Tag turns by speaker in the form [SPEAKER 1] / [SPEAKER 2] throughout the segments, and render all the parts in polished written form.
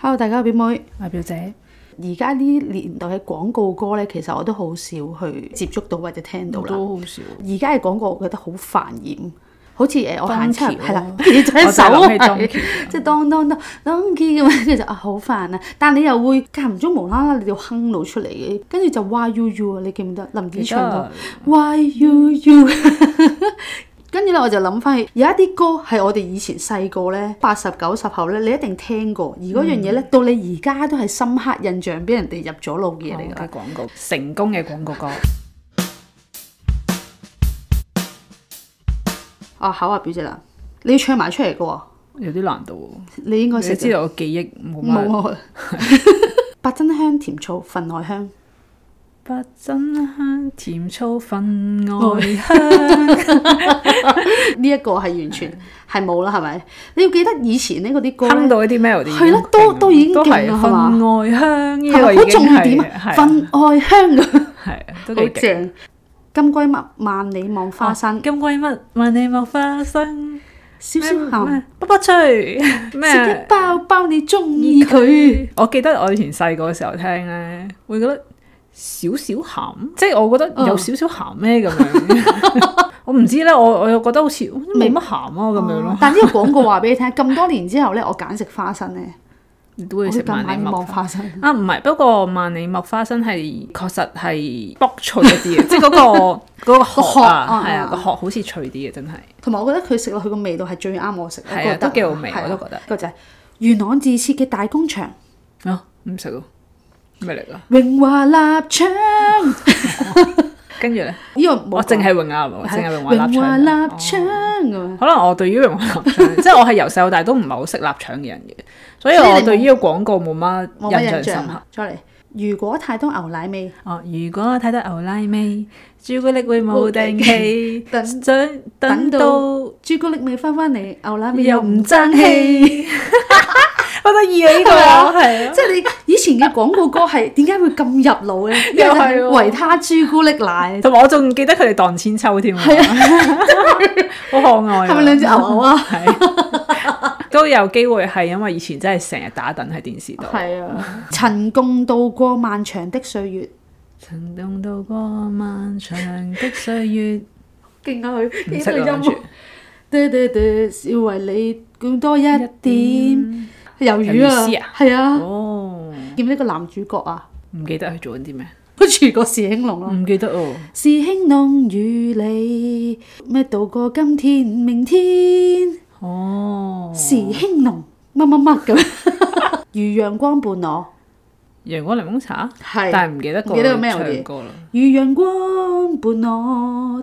[SPEAKER 1] Hello， 大家好，表妹，
[SPEAKER 2] 阿表姐。
[SPEAKER 1] 而家呢年代嘅廣告歌咧，其實我都好少去接觸到或者聽到啦。
[SPEAKER 2] 都好少。
[SPEAKER 1] 而家嘅廣告，我覺得好煩厭，好似我行出嚟係啦，
[SPEAKER 2] 我就諗起
[SPEAKER 1] 即係當咁樣，跟住就好煩啊！但你又會間唔中無啦啦，你就哼到出嚟嘅，跟住就 Why You You 啊，你記唔記得林子祥個 Why You You？ 跟住咧，我就諗翻起有一啲歌係我哋以前細個咧，80、90後咧，你一定聽過。而嗰樣嘢咧，到你而家都係深刻印象，俾人哋入咗腦嘅嘢嚟㗎。
[SPEAKER 2] 嘅廣告，成功嘅廣告歌。
[SPEAKER 1] 考下表姐啦，你要唱埋出嚟嘅喎。
[SPEAKER 2] 有啲難度喎。
[SPEAKER 1] 你應該識。
[SPEAKER 2] 你知道我記憶冇乜。
[SPEAKER 1] 八珍香甜醋分外香。
[SPEAKER 2] 八珍香甜醋分外香。
[SPEAKER 1] 呢一個係完全係冇啦，係咪？你要記得以前呢嗰啲歌
[SPEAKER 2] 哼到一啲 melody
[SPEAKER 1] 係咯，都已經勁啦，係嘛？
[SPEAKER 2] 分外香呢
[SPEAKER 1] 個已經係好重點啊！分外香㗎，
[SPEAKER 2] 係都
[SPEAKER 1] 好正。金龜蜜萬里望花生，
[SPEAKER 2] 金龜蜜萬里望花生，
[SPEAKER 1] 少少鹹，
[SPEAKER 2] 卜卜脆，咩？
[SPEAKER 1] 食一包包你中意佢。
[SPEAKER 2] 我記得我以前細個嘅時候聽咧，會覺得少少鹹，即係我覺得有少少鹹咩咁樣。我唔知咧，我又覺得好似冇乜鹹啊咁樣咯。
[SPEAKER 1] 但係呢個廣告話俾你聽，咁多年之後咧，我揀食花生咧。
[SPEAKER 2] 你都會食萬里望
[SPEAKER 1] 花生
[SPEAKER 2] 啊？唔係，不過萬里望花生係確實係卜脆一啲嘅，即係嗰個殼啊，係啊，個殼好似脆啲嘅，真係。同
[SPEAKER 1] 埋我覺得佢食落去個味道係最啱我食，
[SPEAKER 2] 係啊，都幾好味，我都覺得。
[SPEAKER 1] 個就係元朗自設嘅大工場
[SPEAKER 2] 啊，唔食咯，咩嚟㗎？
[SPEAKER 1] 榮華臘腸。
[SPEAKER 2] 跟住咧，
[SPEAKER 1] 呢個
[SPEAKER 2] 我淨係榮華，淨係榮華臘腸。
[SPEAKER 1] 臘腸
[SPEAKER 2] 可能我對於榮華臘腸，即係我係由細到大都唔係好識臘腸嘅人嘅，所以我對呢個廣告冇乜印象深刻。
[SPEAKER 1] 再嚟，如果太多牛奶味，
[SPEAKER 2] 如果太多牛奶味，朱古力會冇定期，等到
[SPEAKER 1] 朱古力味翻嚟，牛奶味
[SPEAKER 2] 又唔爭氣。好得意啊！呢個係
[SPEAKER 1] 即係你以前嘅廣告歌係點解會咁入腦咧？
[SPEAKER 2] 又係
[SPEAKER 1] 維他朱古力奶，
[SPEAKER 2] 同埋我仲記得佢哋盪千秋添，係啊，好可愛。
[SPEAKER 1] 係咪兩隻牛牛啊？
[SPEAKER 2] 係都有機會係因為以前真係成日打躉喺電視度。
[SPEAKER 1] 係啊，曾共度過漫長的歲月，
[SPEAKER 2] 曾共度過漫長的歲月，
[SPEAKER 1] 勁啊佢
[SPEAKER 2] 唔識啦，跟住
[SPEAKER 1] 要為你更多一點。魷魚啊，係啊，見呢個男主角啊，
[SPEAKER 2] 唔記得佢做緊啲咩？
[SPEAKER 1] 佢住過時興隆咯，
[SPEAKER 2] 唔記得哦。
[SPEAKER 1] 時興隆與你咩度過今天明天，時興隆乜乜乜咁，如陽光伴我，
[SPEAKER 2] 陽光檸檬茶
[SPEAKER 1] 係，
[SPEAKER 2] 但係唔記得個唱歌啦。如
[SPEAKER 1] 陽光伴我，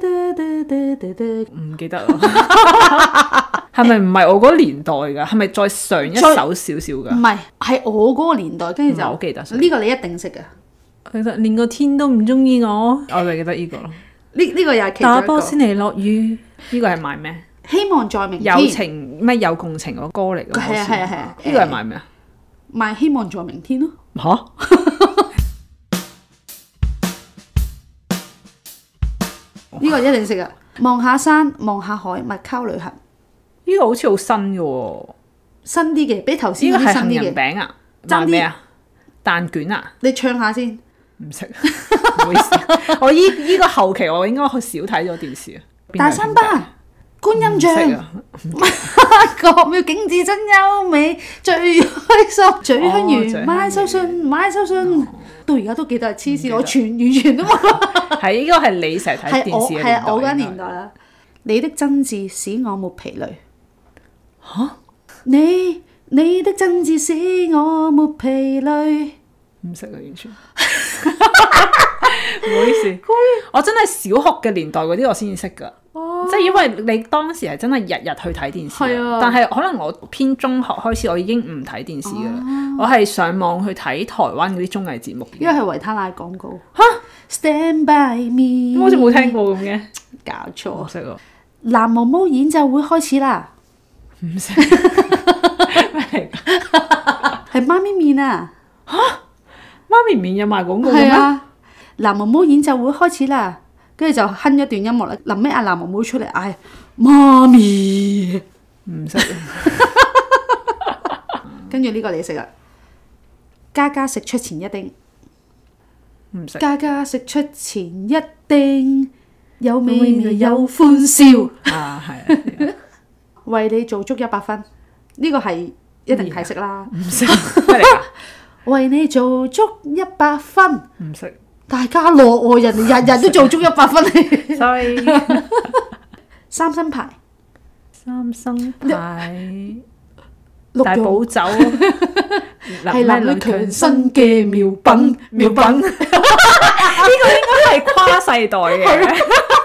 [SPEAKER 2] 唔記得啦。係咪唔係我嗰年代㗎？係咪再上一首少少㗎？
[SPEAKER 1] 唔係，係我嗰個年代，跟住就
[SPEAKER 2] 好記得。
[SPEAKER 1] 呢個你一定識㗎。
[SPEAKER 2] 其實連個天都唔中意我，我就記得呢個咯。
[SPEAKER 1] 呢個又係其中一個。
[SPEAKER 2] 打波先嚟落雨，呢個係賣咩？
[SPEAKER 1] 希望在明天。
[SPEAKER 2] 友情咩有共情個歌嚟㗎？
[SPEAKER 1] 係啊係啊係啊！
[SPEAKER 2] 呢個係賣咩啊？
[SPEAKER 1] 賣希望在明天咯。
[SPEAKER 2] 嚇！
[SPEAKER 1] 呢個一定識㗎。望下山，望下海，麥溝旅行。
[SPEAKER 2] 呢個好似好新嘅喎，
[SPEAKER 1] 新啲嘅，比頭先嗰啲新啲嘅。呢個係杏仁
[SPEAKER 2] 餅啊？賣咩啊？蛋卷啊？
[SPEAKER 1] 你唱下先。
[SPEAKER 2] 唔識，唔好意思。我依個後期我應該少睇咗電視啊。
[SPEAKER 1] 大三巴、觀音像、國廟景致真優美，最開心、最香園買手信、買手信，到而家都記得係黐線，我完全都冇。
[SPEAKER 2] 係應該係你成日睇電視嘅年代。
[SPEAKER 1] 係我嗰年代啦。你的真摯使我沒疲累。
[SPEAKER 2] 嚇！
[SPEAKER 1] 你的真摯使我沒疲累。
[SPEAKER 2] 唔識啊，完全。唔好意思，我真係小學嘅年代嗰啲我先至識㗎，即係因為你當時係真係日日去睇電視，但係可能我偏中學開始我已經唔睇電視㗎啦，我係上網去睇台灣嗰啲綜藝節目。
[SPEAKER 1] 因為係維他奶廣告。
[SPEAKER 2] 嚇
[SPEAKER 1] ！Stand by me。
[SPEAKER 2] 好似冇聽過咁嘅。
[SPEAKER 1] 搞錯。
[SPEAKER 2] 唔識喎。
[SPEAKER 1] 藍毛毛演奏會開始啦。
[SPEAKER 2] 唔識。咩嚟㗎？
[SPEAKER 1] 係媽咪麵啊！
[SPEAKER 2] 嚇！媽咪麵有賣廣告嘅咩？
[SPEAKER 1] 藍毛毛演奏會開始啦，跟住就哼一段音樂啦。臨尾阿藍毛毛出嚟嗌媽咪，
[SPEAKER 2] 唔識。
[SPEAKER 1] 跟住呢個你食啦，家家食出前一丁，
[SPEAKER 2] 唔食。
[SPEAKER 1] 家家食出前一丁，有味味有歡笑。
[SPEAKER 2] 啊，係啊。
[SPEAKER 1] 為你做足100分，呢個係一定係識啦。
[SPEAKER 2] 唔識咩嚟㗎？
[SPEAKER 1] 為你做足100分，
[SPEAKER 2] 唔識。
[SPEAKER 1] 大家樂喎，人哋日日都做足100分嚟。
[SPEAKER 2] Sorry。
[SPEAKER 1] 三生牌。
[SPEAKER 2] 三生牌。
[SPEAKER 1] 六
[SPEAKER 2] 大補酒。
[SPEAKER 1] 係男女強身嘅妙品。
[SPEAKER 2] 呢個應該係跨世代嘅。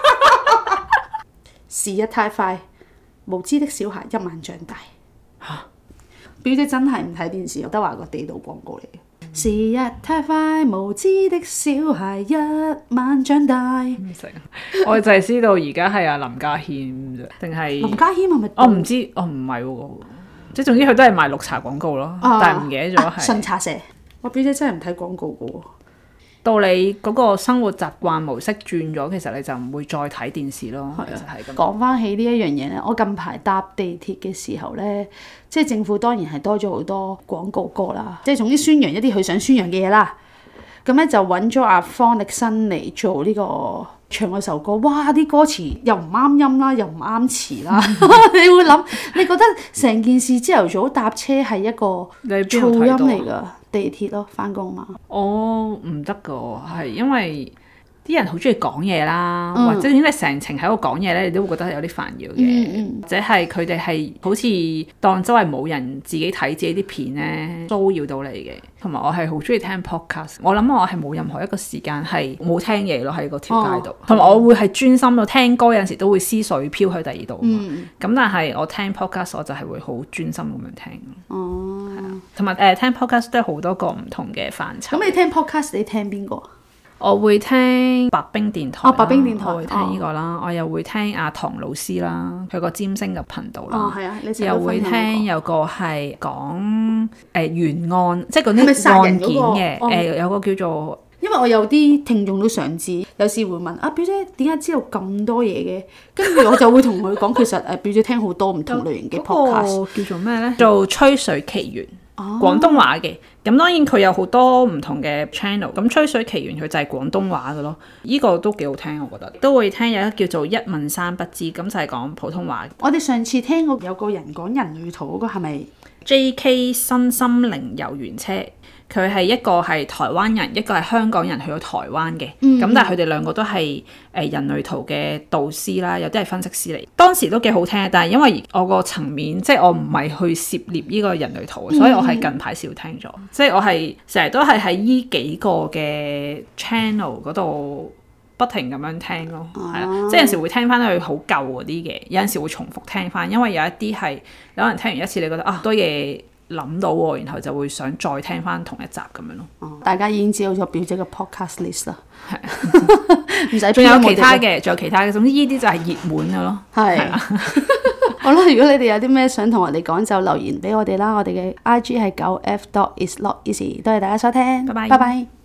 [SPEAKER 1] 時日太快，無知的小孩一晚長大。表姐真係唔睇電視，德華個地道廣告嚟嘅。時日太快，無知的小孩一晚長大。
[SPEAKER 2] 唔識，我就係知道而家係阿林家謙啫，定係
[SPEAKER 1] 林家謙係咪？
[SPEAKER 2] 我唔知，我唔係喎。即係總之佢都係賣綠茶廣告咯，但係唔記得咗係。
[SPEAKER 1] 順茶社，我表姐真係唔睇廣告嘅喎。
[SPEAKER 2] 到你嗰個生活習慣模式轉咗，其實你就唔會再睇電視咯。其實係咁。
[SPEAKER 1] 講翻起呢一樣嘢咧，我近排搭地鐵嘅時候咧，即係政府當然係多咗好多廣告歌啦，即係總之宣揚一啲佢想宣揚嘅嘢啦。咁咧就揾咗阿方力申嚟做呢個唱嗰首歌，哇！啲歌詞又唔啱音啦，又唔啱詞啦，你會諗，你覺得成件事朝頭早搭車係一個噪音嚟㗎？地鐵咯，翻工嘛。
[SPEAKER 2] 哦，唔得噶，係因為啲人好中意講嘢啦，或者點解成程喺度講嘢咧，你都會覺得有啲煩擾嘅，或者係佢哋係好似當周圍冇人自己睇自己啲片咧，騷擾到你嘅。同埋我係好中意聽 podcast， 我諗我係冇任何一個時間係冇聽嘢咯喺個條街度，同埋我會係專心到聽歌，有陣時都會思緒飄去第二度。咁但係我聽 podcast 我就係會好專心咁樣聽。同埋聽 podcast 都係好多個唔同嘅範疇。
[SPEAKER 1] 咁你聽 podcast 你聽邊個？
[SPEAKER 2] 我會聽白冰電台。
[SPEAKER 1] 白冰電台，
[SPEAKER 2] 我會聽呢個啦。我又會聽阿唐老師啦，佢個占星嘅頻道啦。
[SPEAKER 1] 係啊，
[SPEAKER 2] 又會聽有個係講懸案，即係嗰啲案件嘅。有個叫做，
[SPEAKER 1] 因為我有啲聽眾都想知，有時會問啊表姐點解知道咁多嘢嘅？跟住我就會同佢講，其實表姐聽好多唔同類型嘅 podcast。
[SPEAKER 2] 叫做咩咧？做吹水奇緣。廣東話嘅，咁當然佢有好多唔同嘅 channel，咁吹水奇緣佢就係廣東話嘅咯，呢個都幾好聽，我覺得都會聽有一個叫做一問三不知，咁就係講普通話。我哋上次聽過有個人講人類圖嗰個係咪 JK 身心靈遊園車？佢係一個係台灣人，一個係香港人去到台灣嘅，咁但係佢哋兩個都係人類圖嘅導師啦，有啲係分析師嚟。當時都幾好聽，但係因為我個層面即係我唔係去涉獵呢個人類圖，所以我係近排少聽咗。即係我係成日都係喺呢幾個嘅 channel 嗰度不停咁樣聽咯，係啦，即係有時會聽翻佢好舊嗰啲嘅，有陣時會重複聽翻，因為有一啲係有人聽完一次你覺得啊多嘢諗到喎，然後就會想再聽翻同一集咁樣咯。大家已經知道咗表姐嘅 podcast list 啦，係唔使。仲有其他嘅，仲有其他嘅，總之呢啲就係熱門嘅咯。係啊，好啦，如果你哋有啲咩想同我哋講，就留言俾我哋啦。我哋嘅 IG 係9f.isnoteasy。多謝大家收聽，拜拜。